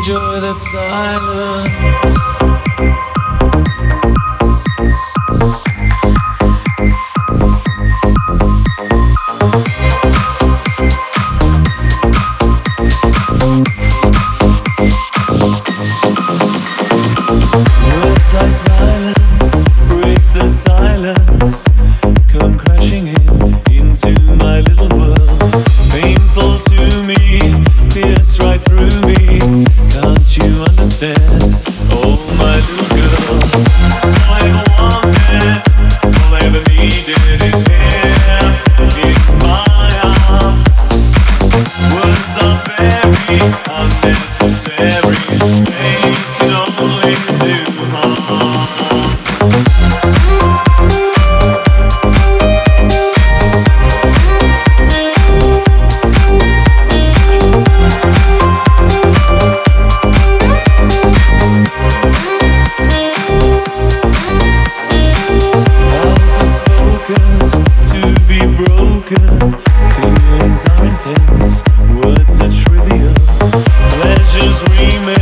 enjoy the silence. Words like violence break the silence, come crashing into my little world. Painful to me, pierce right through me. Can't you understand? Oh, my little girl. All I ever wanted, all I ever needed is here in my arms. Words are very unnecessary. They can only do harm. Feelings are intense, words are trivial, pleasures remain.